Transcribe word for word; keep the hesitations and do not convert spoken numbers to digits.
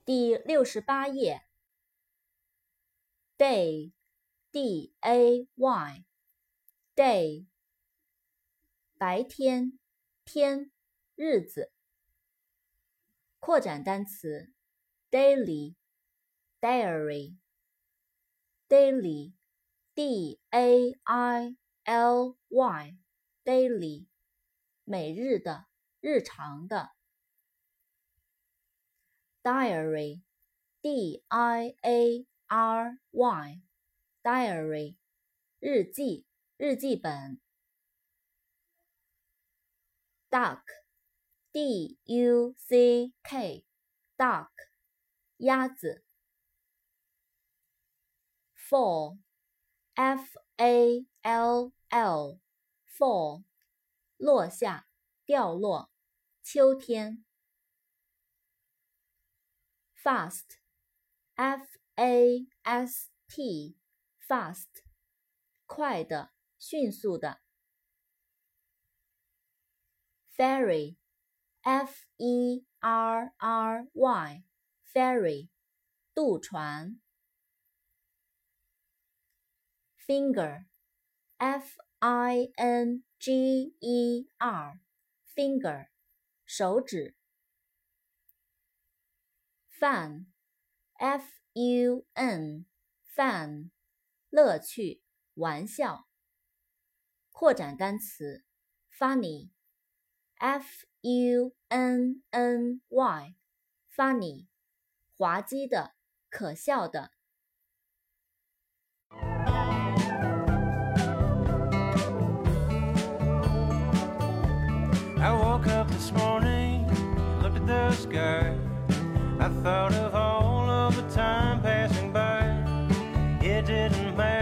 第六十八页 day D A Y day 白天天日子扩展单词 daily diary daily D A I L Y daily 每日的日常的Diary, D I A R Y, diary, 日记，日记本。Duck, D U C K, duck, 鸭子。Fall, F A L L, fall, 落下，掉落，秋天。Fast, F A S T, fast, 快的，迅速的。Ferry, F E R R Y, ferry, 渡船。Finger, F I N G E R, finger, 手指。Fun, F U N, fun, 乐趣，玩笑。扩展单词 funny, F U N N Y, funny, 滑稽的，可笑的。 I woke up this morning, looked at the sky.I thought of all of the time passing by. It didn't matter.